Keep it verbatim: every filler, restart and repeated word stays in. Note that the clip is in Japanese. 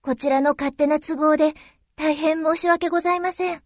こちらの勝手な都合で大変申し訳ございません。